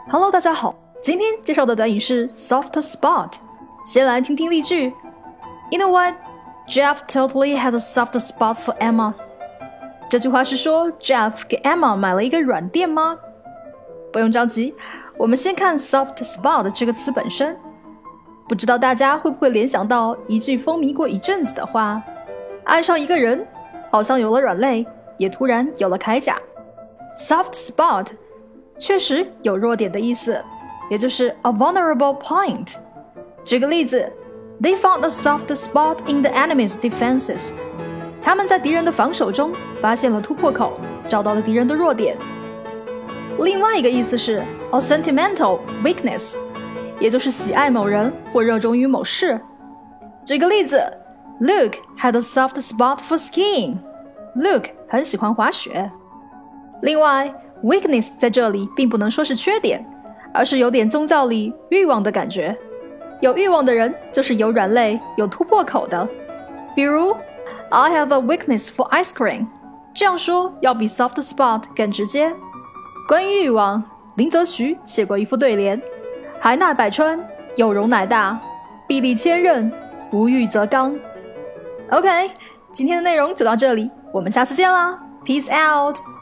Hello， 大家好，今天介绍的短语是 soft spot。先来听听例句。You know what? Jeff totally has a soft spot for Emma. 这句话是说 Jeff 给 Emma 买了一个软垫吗？不用着急，我们先看 soft spot 这个词本身。不知道大家会不会联想到一句风靡过一阵子的话，爱上一个人，好像有了软肋，也突然有了铠甲。Soft spot 确实有弱点的意思，也就是 a vulnerable point。 举个例子， They found a soft spot in the enemy's defenses。 他们在敌人的防守中发现了突破口，找到了敌人的弱点。另外一个意思是 a sentimental weakness， 也就是喜爱某人或热衷于某事。举个例子， Luke had a soft spot for skiing。 Luke 很喜欢滑雪。另外Weakness 在这里并不能说是缺点，而是有点宗教里欲望的感觉。有欲望的人就是有软肋、有突破口的。比如 I have a weakness for ice cream， 这样说要比 soft spot 更直接。关于欲望，林则徐写过一副对联：海纳百川，有容乃大，壁立千仞，无欲则刚。 OK， 今天的内容就到这里，我们下次见啦， Peace out。